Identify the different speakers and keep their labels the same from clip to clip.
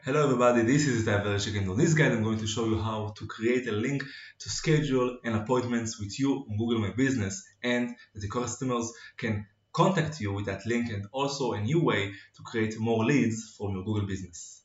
Speaker 1: Hello everybody, this is Itai Vereshik, and on this guide I'm going to show you how to create a link to schedule an appointments with you on Google My Business, and that the customers can contact you with that link, and also a new way to create more leads from your Google business.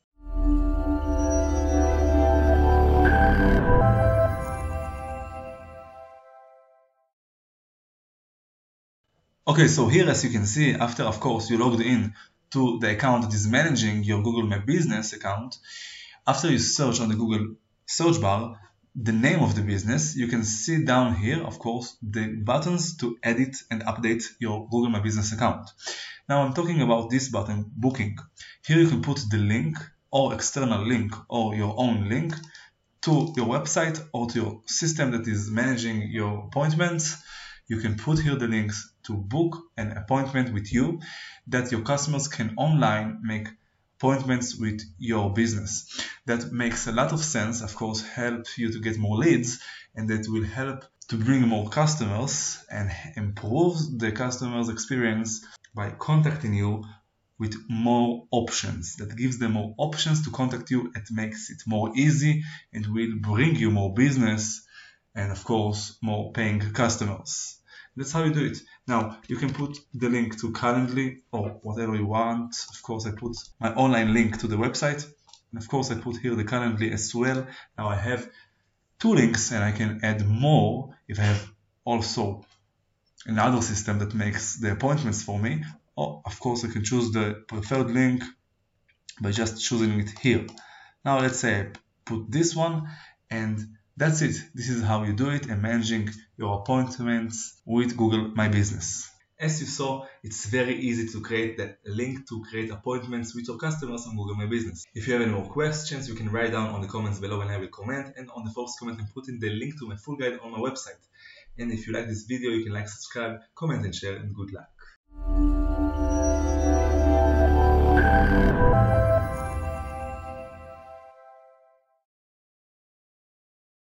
Speaker 1: Okay, so here as you can see, after of course you logged in to the account that is managing your Google My Business account, after you search on the Google search bar the name of the business, you can see down here, of course, the buttons to edit and update your Google My Business account. Now I'm talking about this button, Booking. Here you can put the link or external link or your own link to your website or to your system that is managing your appointments. You can put here the links to book an appointment with you, that your customers can online make appointments with your business. That makes a lot of sense, of course, help you to get more leads, and that will help to bring more customers and improve the customer's experience by contacting you with more options. That gives them more options to contact you. It makes it more easy and will bring you more business and of course more paying customers. That's how you do it. Now you can put the link to Calendly or whatever you want. Of course I put my online link to the website, and of course I put here the Calendly as well. Now I have two links and I can add more if I have also another system that makes the appointments for me. Or of course I can choose the preferred link by just choosing it here. Now let's say I put this one, and that's it. This is how you do it and managing your appointments with Google My Business. As you saw, it's very easy to create the link to create appointments with your customers on Google My Business. If you have any more questions, you can write down on the comments below and I will comment, and on the first comment and put in the link to my full guide on my website. And if you like this video, you can like, subscribe, comment and share, and good luck.